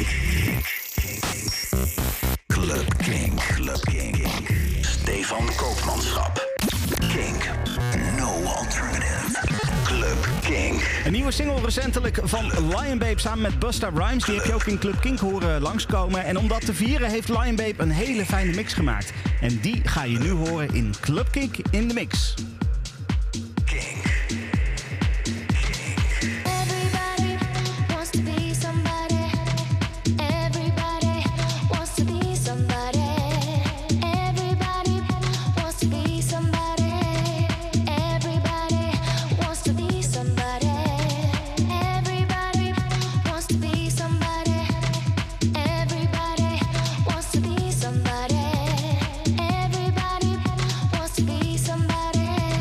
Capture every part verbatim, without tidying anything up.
Club Kink. Club Kink. Stefan Koopmanschap. Kink. No alternative. Club Kink. Een nieuwe single recentelijk van Lion Babe samen met Busta Rhymes. Die heb je ook in Club Kink horen langskomen. En om dat te vieren heeft Lion Babe een hele fijne mix gemaakt. En die ga je nu horen in Club Kink in de mix. Somebody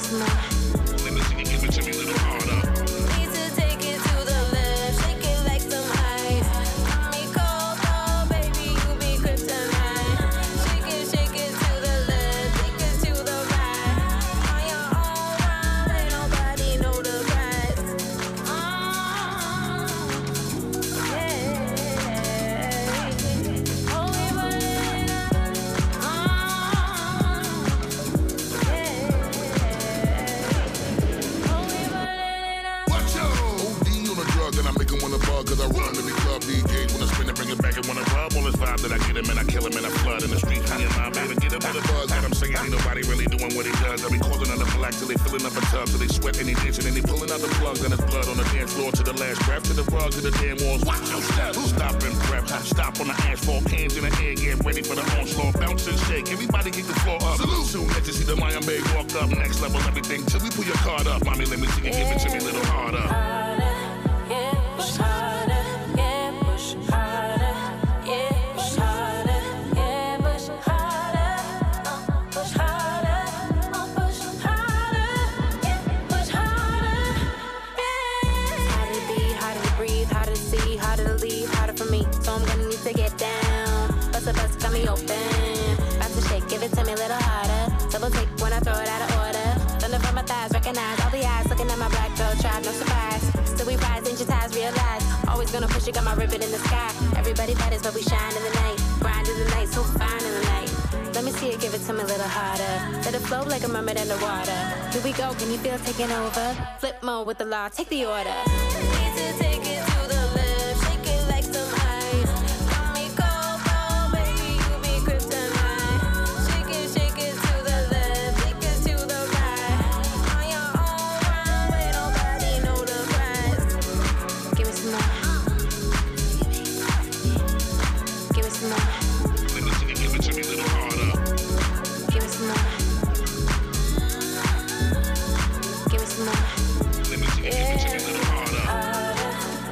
some more. Let me see you give it to me a little harder. Need to take it to the left, shake it like some ice. Got me cold, oh baby, you be kryptonite. Shake it, shake it to the left, take it to the right. On your own rhyme, ain't nobody know the price. Oh, yeah. Oh, we put it up. Oh, yeah. Oh, we put it up. Watch out! O D on a drug and I make him wanna bug. Cause I run in the club, D Js wanna spin it, bring it back and wanna rub. All this vibe that I get him and I kill him and I flood in the street. Me and my baby get him with a buzz. That I'm saying ain't nobody really doing what he does. I be calling on the black till they filling up a tub. Till they sweat and they dancing and they pulling out the plugs. And it's blood on the dance floor to the last breath. To the rug, to the damn walls. Watch your step. Stop and prep. Stop on the asphalt. Cans in the air. Get ready for the onslaught. Bounce and shake. Everybody get the floor up. Salute. Soon as you see the Lion Bay walk up. Next level everything till we pull your card up. Mommy, let me see you give it to me a little harder. Harder, yeah, push harder, yeah, push harder, yeah, push harder, yeah, push harder, uh, push harder, uh, push harder, yeah, push harder, yeah. Harder to be, harder to breathe, harder to see, harder to leave, harder for me. So I'm gonna need to get down. Bust a bust, got me open. About to shake, give it to me a little harder. Double take when I throw it out of order. Thunder from my thighs, recognize all the eyes looking at my black belt, tribe, no surprise. Still we rise, digitize, realize. Always gonna push it, got my ribbon in the sky. Everybody matters, but we shine in the night. Grind in the night, so fine in the night. Let me see it, give it to me a little harder. Let it flow like a mermaid underwater. Here we go, can you feel it taking over? Flip mode with the law, take the order. Need to take it to the left, shake it like some ice. Got me cold, oh baby, you be kryptonite. Shake it, shake it to the left, take it to the right. On your own rhyme, ain't nobody know the price. Give me some more. Give me some more. Let me see you give it to me a little harder. Give me some more. Give me some more. Let me see you give it to me a little harder. Harder,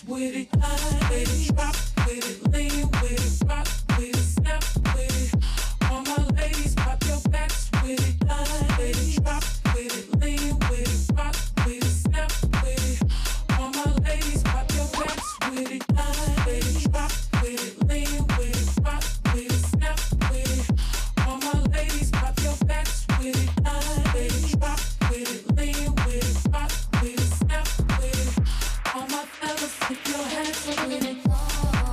with it, line with it, drop with it, lean with it, rock with it, snap with it. All my ladies, pop your backs with it, line with it, drop with it, lean with it, rock with it, snap with it. All my ladies, pop your backs with it, line with it, drop with it, lean with it, rock with it, snap with it. All my ladies, pop your backs with it, line with it, drop with it, lean with it, rock with it, snap with it. All my fellas, keep your hands up with it.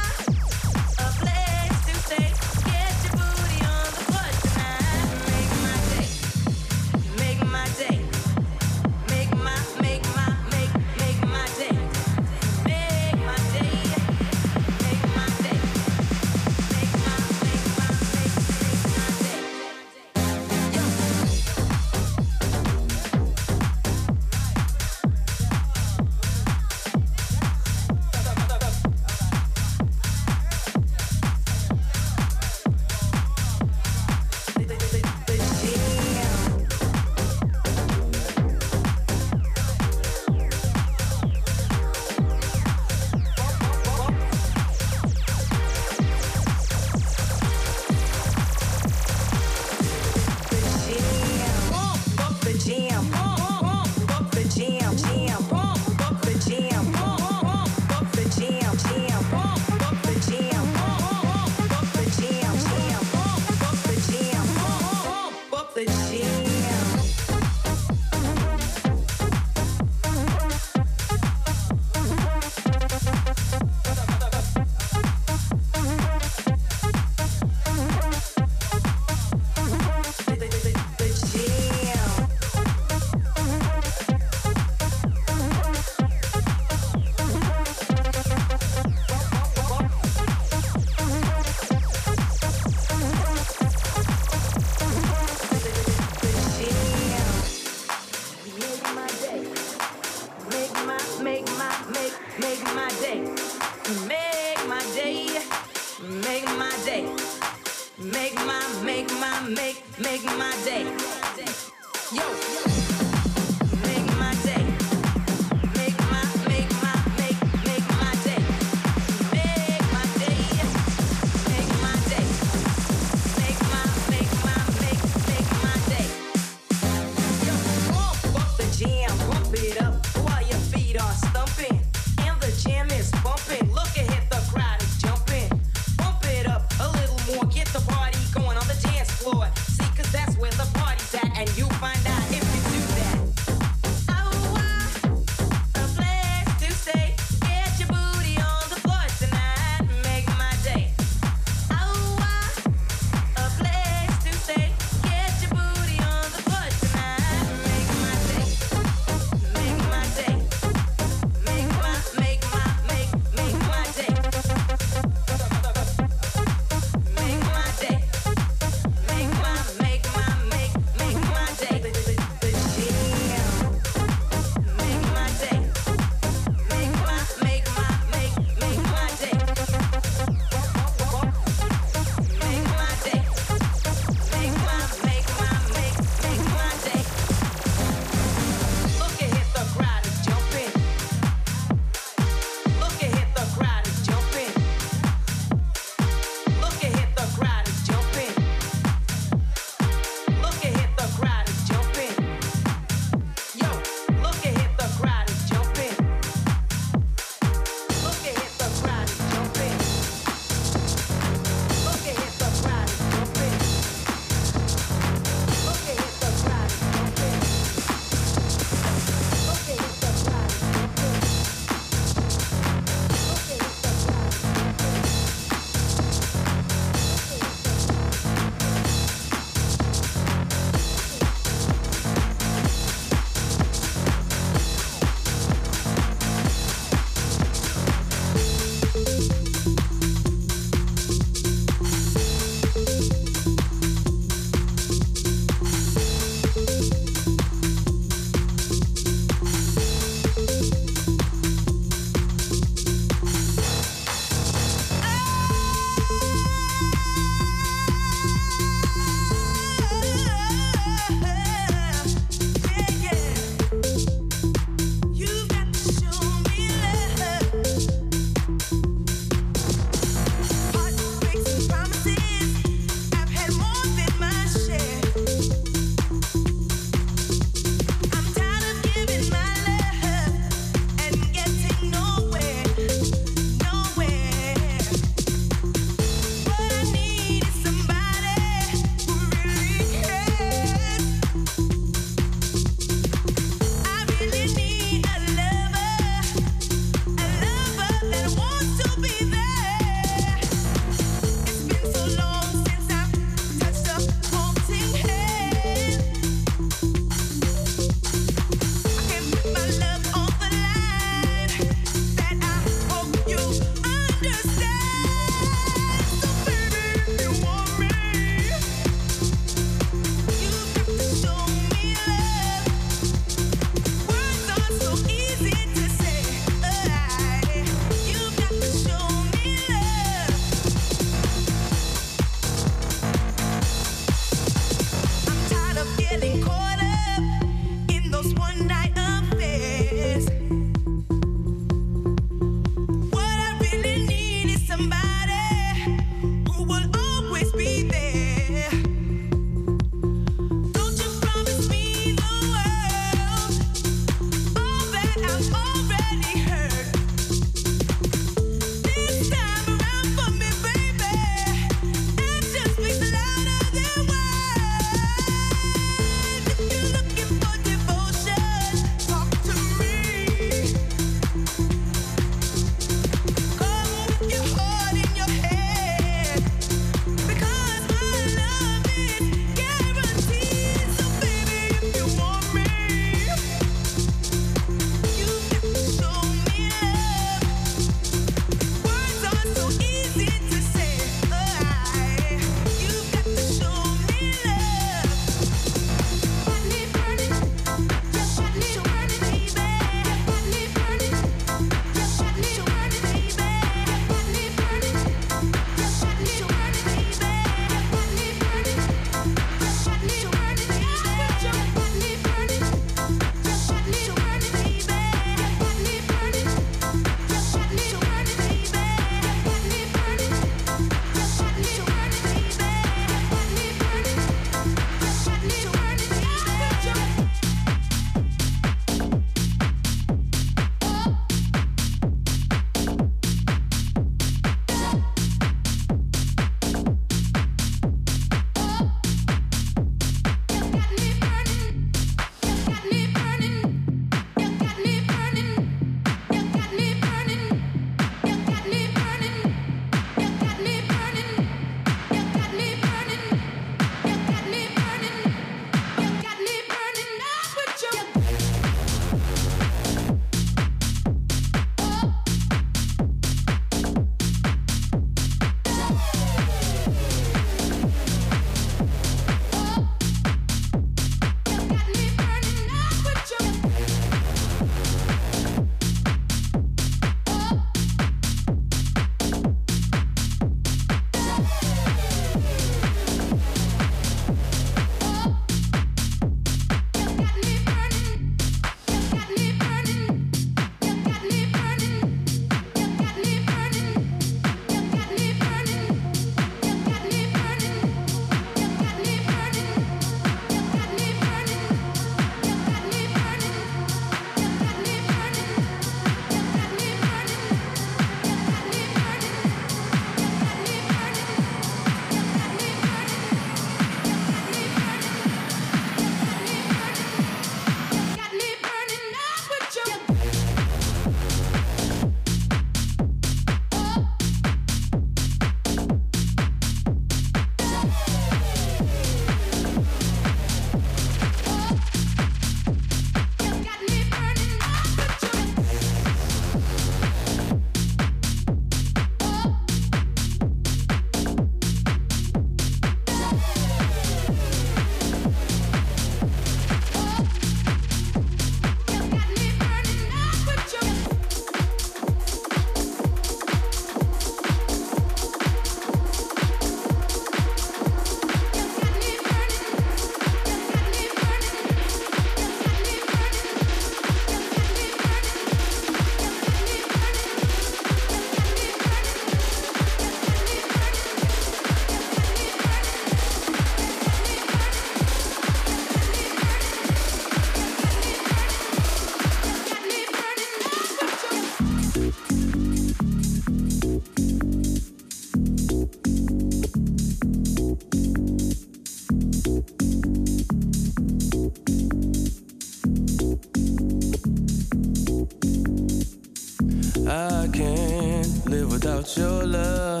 without your love.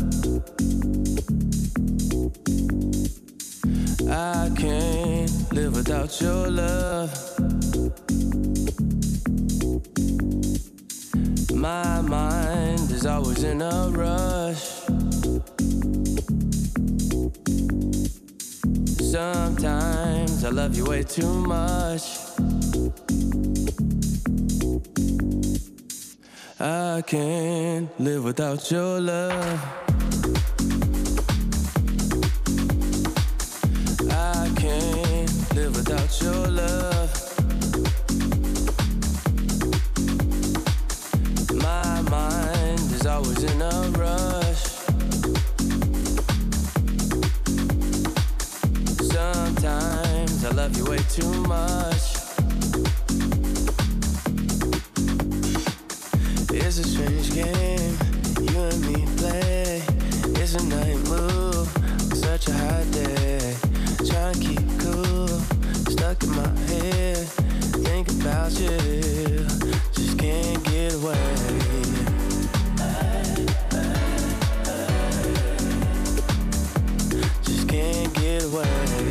I can't live without your love. My mind is always in a rush. Sometimes I love you way too much. I can't live without your love. I can't live without your love. My mind is always in a rush. Sometimes I love you way too much. It's a strange game you and me play. It's a night move, such a hot day. Trying to keep cool, stuck in my head. Think about you, just can't get away. Just can't get away.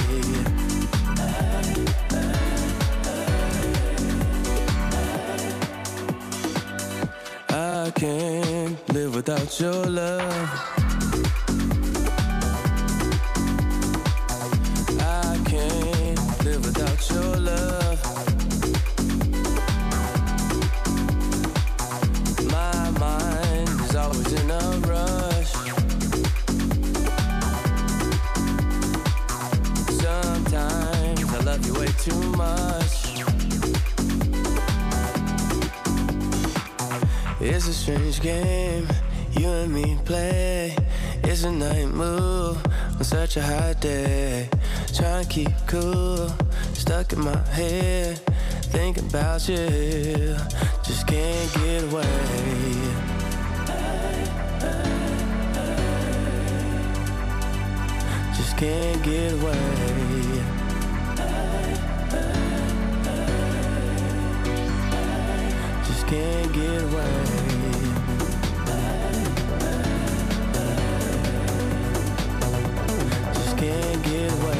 I can't live without your love. I can't live without your love. My mind is always in a rush. Sometimes I love you way too much. It's a strange game you and me play. It's a night move on such a hot day. Trying to keep cool, stuck in my head. Thinking about you, just can't get away. Just can't get away. Just can't get away. Just can't get away.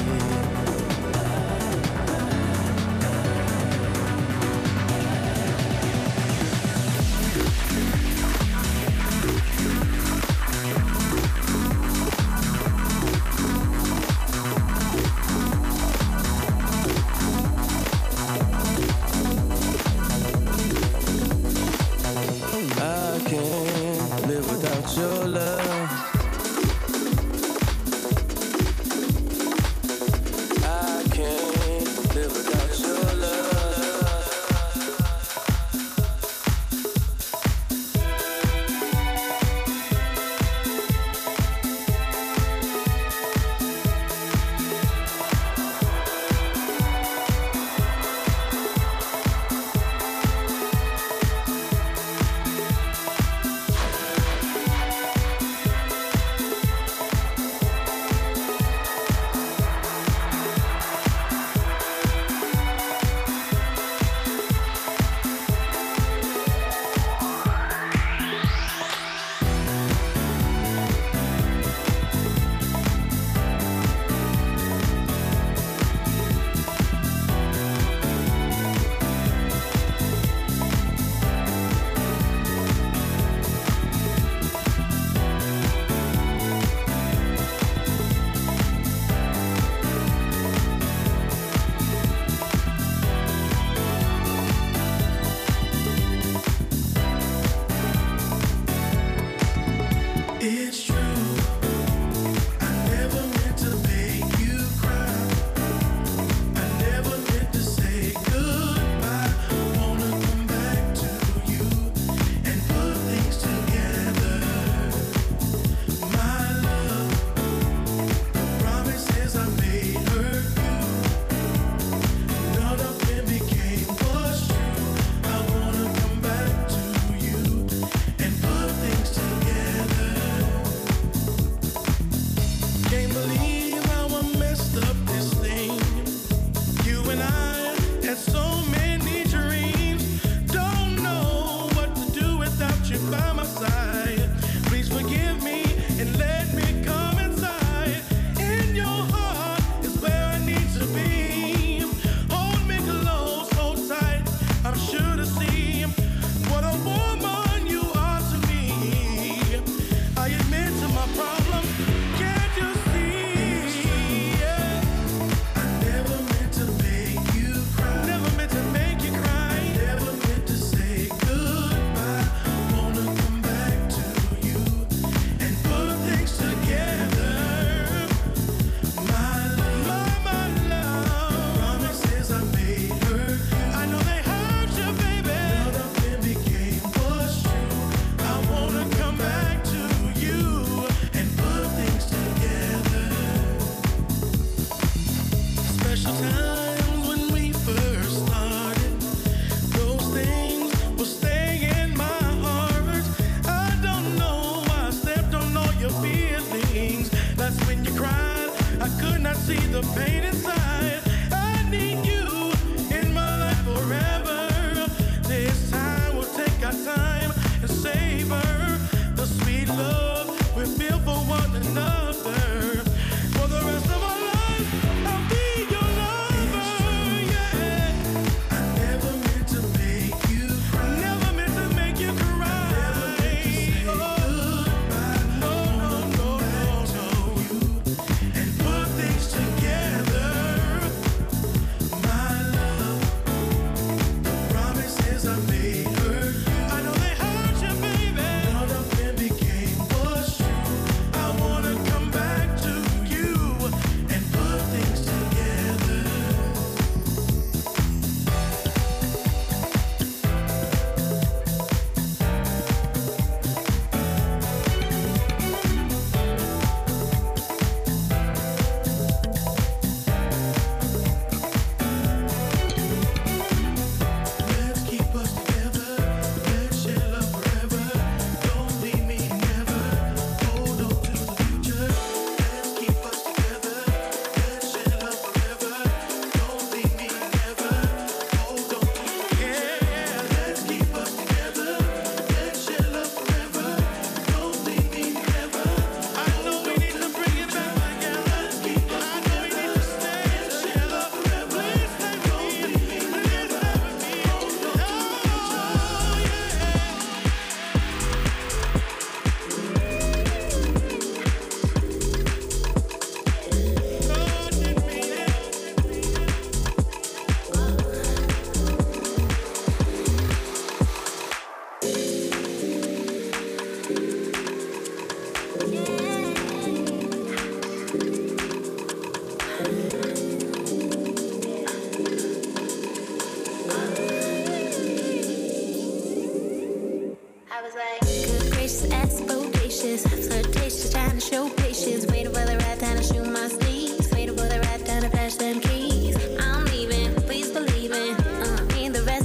I can't live without your love.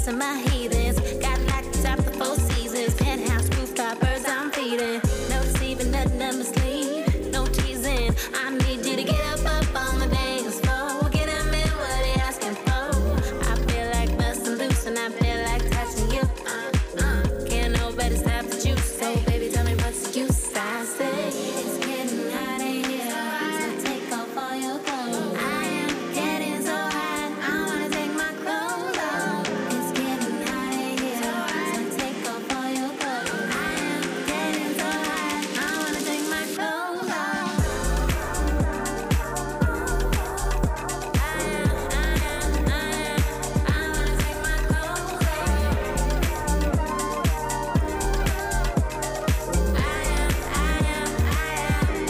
busting my heathens. Got locked top the four seasons. Penthouse rooftop birds I'm feeding. No deceiving, nothing up my sleeve. No teasing. I need you to get up, up on the dance floor. Get them in what they asking for. I feel like busting loose and I feel like touching you. Uh, uh, can't nobody stop the juice. So baby, tell me what's the use? I say it's getting hot in here. So take off all your clothes. I am getting so hot. I wanna take my clothes off. It's getting hot in here. So take off all your clothes. I am getting so hot. I wanna take my clothes off. I am, I am, I am. I wanna take my clothes off. I am, I am, I am.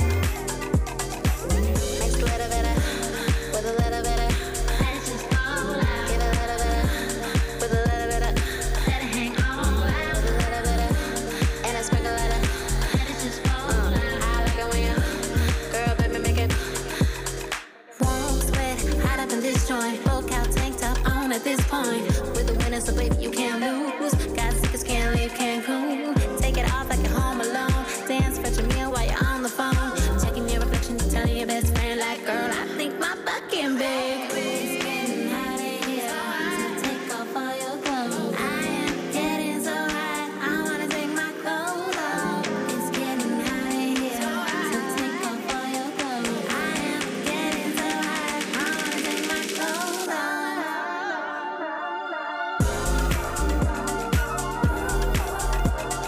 Next little bit of, with a little bit of, let's just fall out. Give a little bit of, with a little bit of, let it hang all out. With a little bit of, and a sprinkle of, let it just fall out. I like it when you, girl, baby, make it. Won't sweat, hot up in this joint. Full cow tank top on at this point. With the winner, so baby, you can't lose. Got tickets, can't leave Cancun. Take it off like you're home alone. Dance, fetch a meal while you're on the phone. Checking your reflection, telling your best friend, like, girl, I think my butt getting big. It's getting hot in here. So take off all your clothes. I am getting so hot. I wanna take my clothes off. It's getting hot in here. So take off all your clothes. I am getting so hot. I wanna take my clothes off. I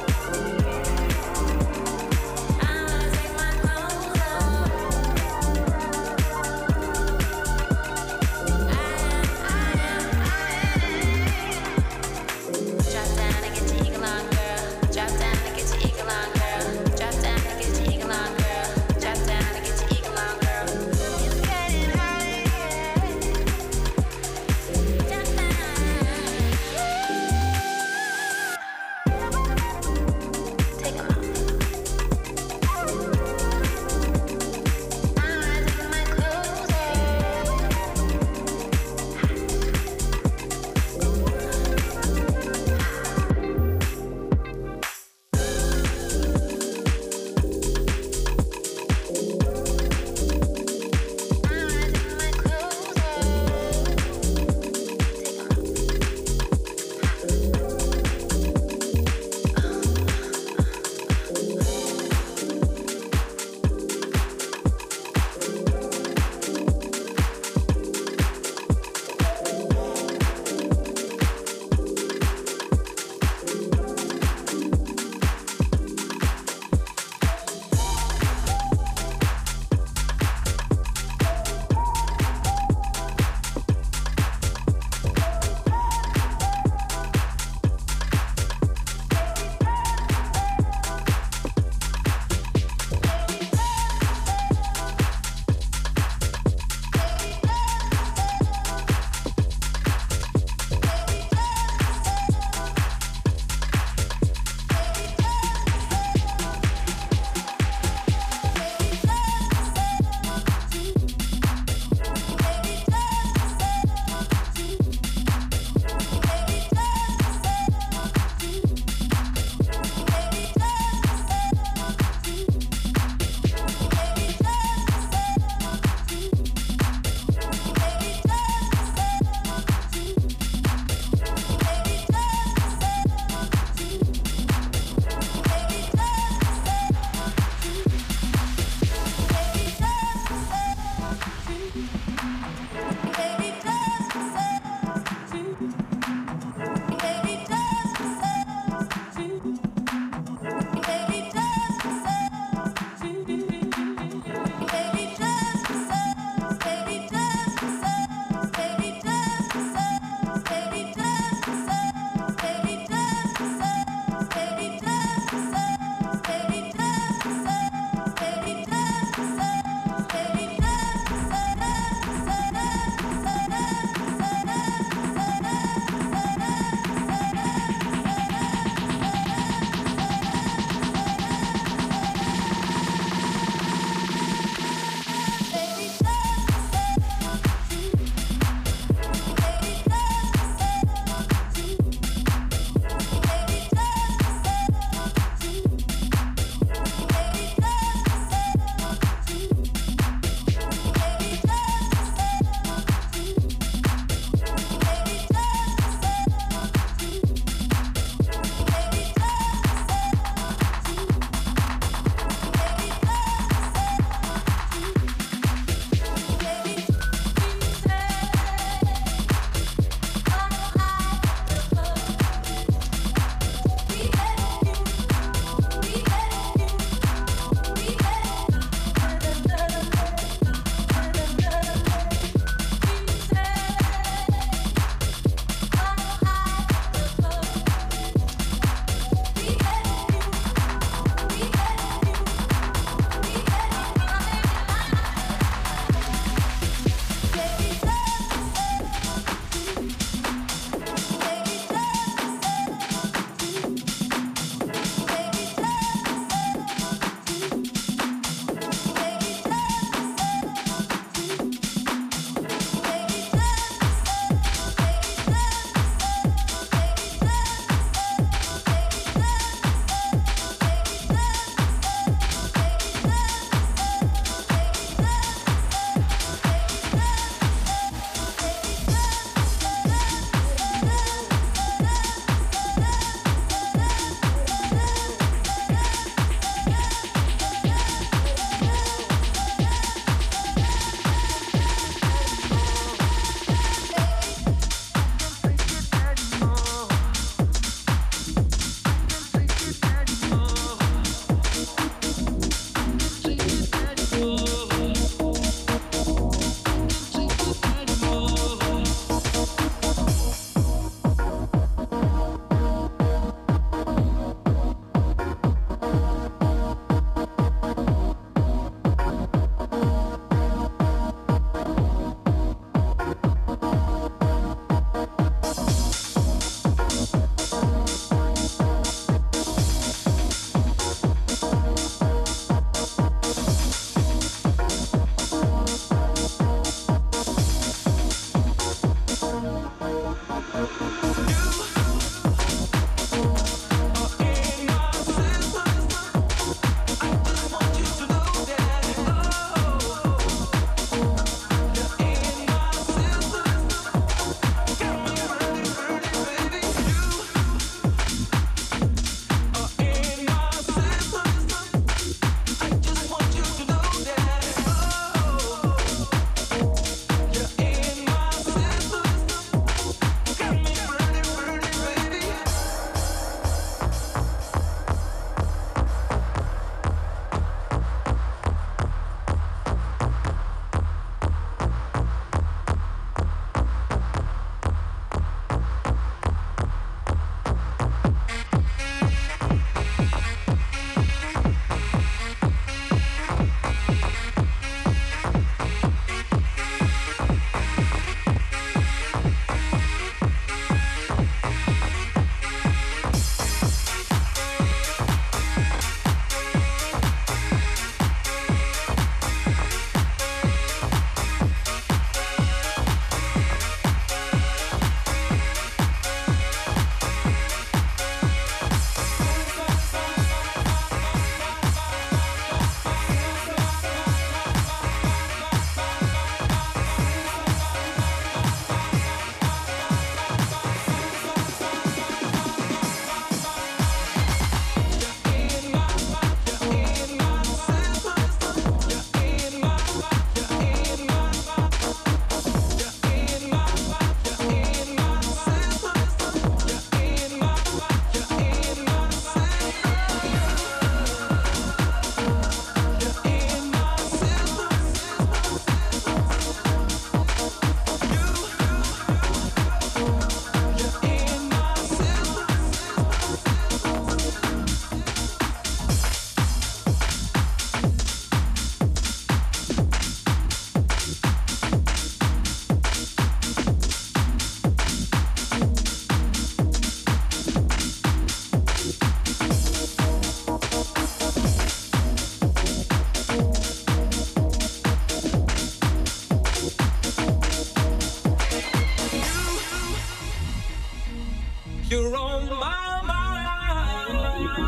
You're on my mind.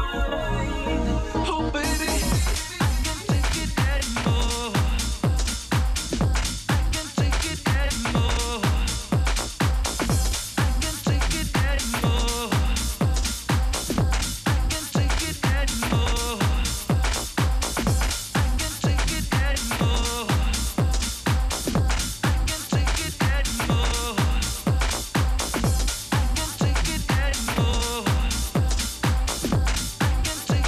Oh, baby, I can't take it anymore. I can't take it anymore. I can't take it anymore. I can't take it anymore. I can't take it anymore. I can't take it anymore. I can't take it anymore.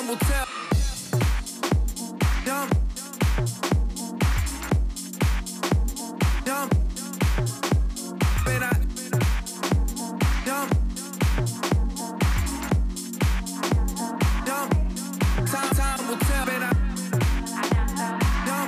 time will tell. Young. Young. When I. Young. Young. Time, time will tell. When I. Young.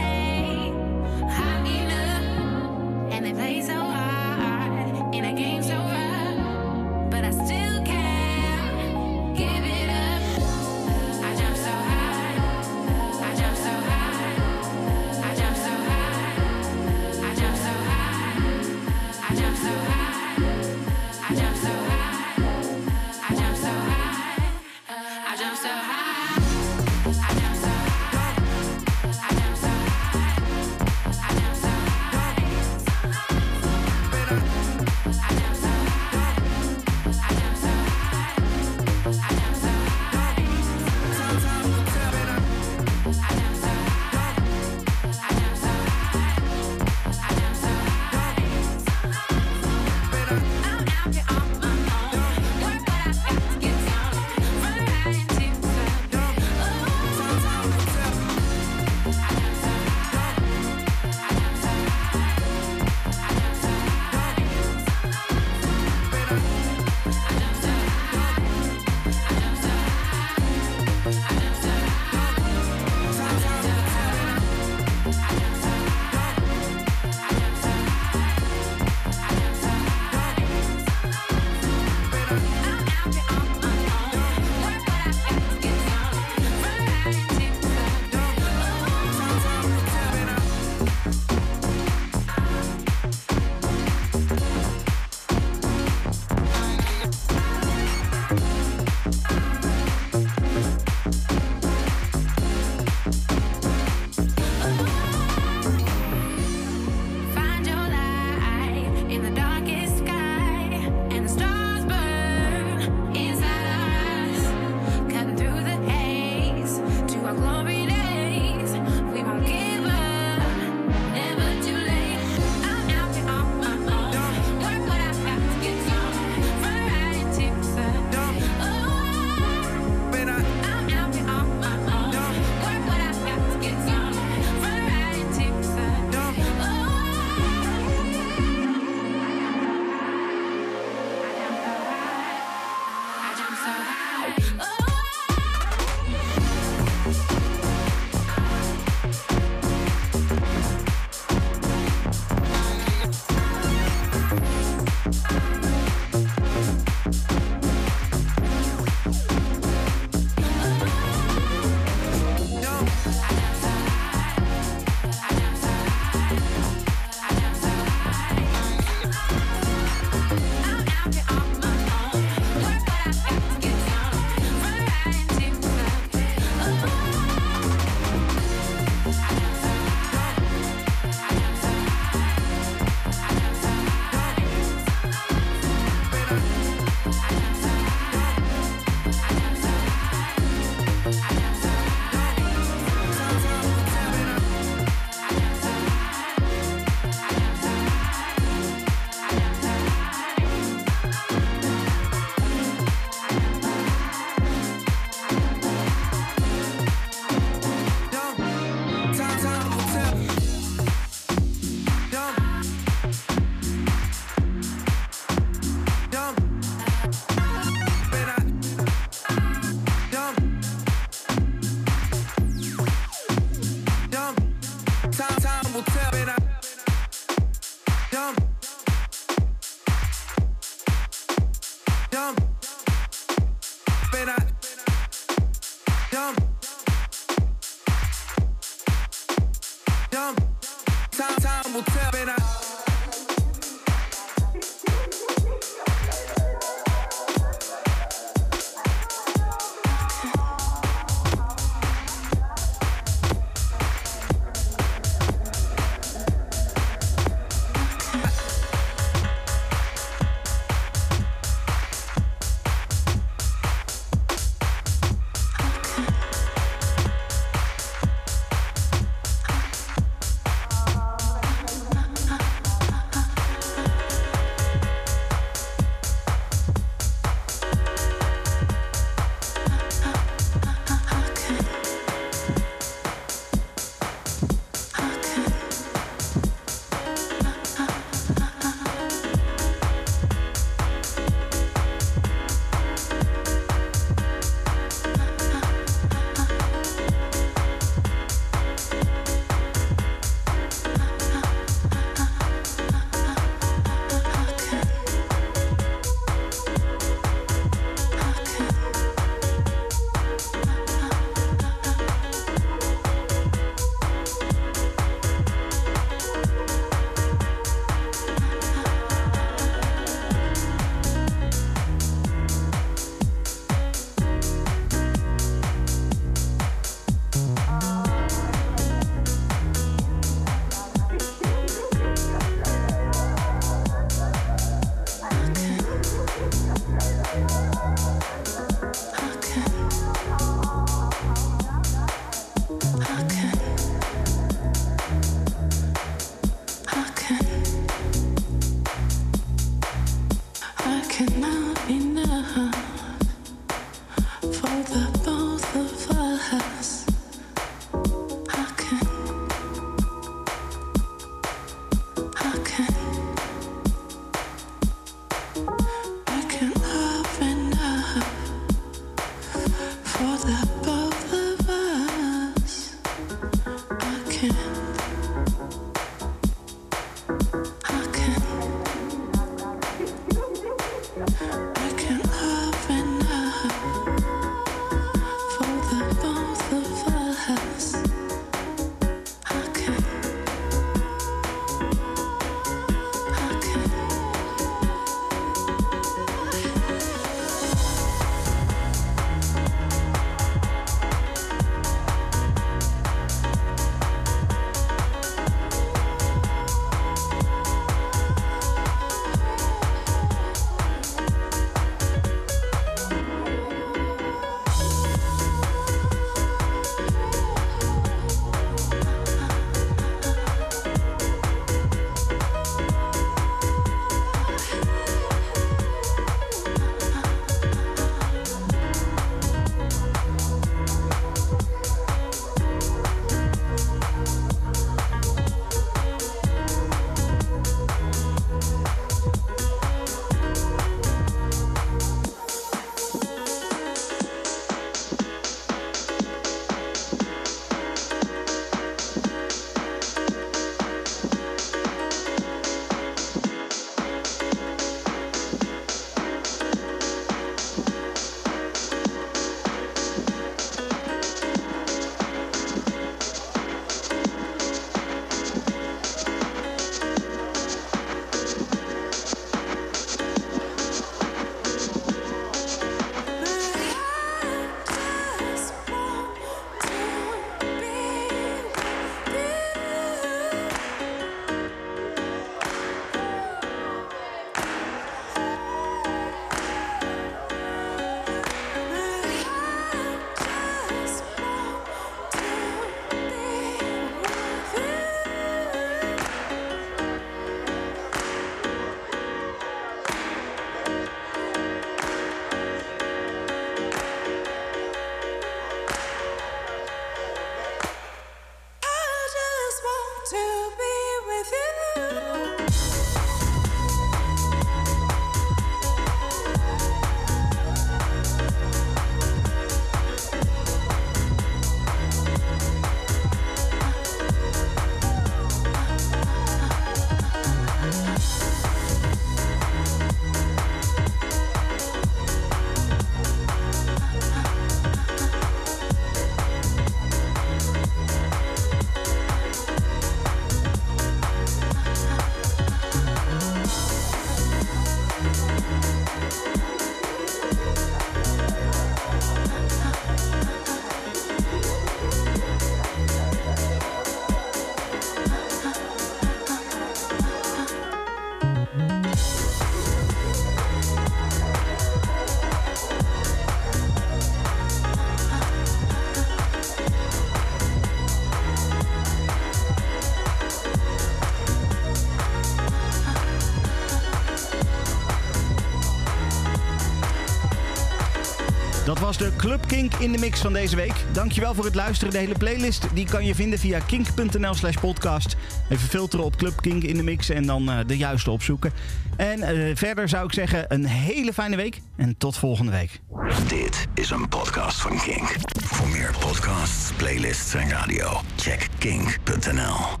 Dat was de Club Kink in de mix van deze week. Dankjewel voor het luisteren. De hele playlist die kan je vinden via kink.nl slash podcast. Even filteren op Club Kink in de mix en dan uh, de juiste opzoeken. En uh, verder zou ik zeggen een hele fijne week en tot volgende week. Dit is een podcast van Kink. Voor meer podcasts, playlists en radio, check kink punt n l.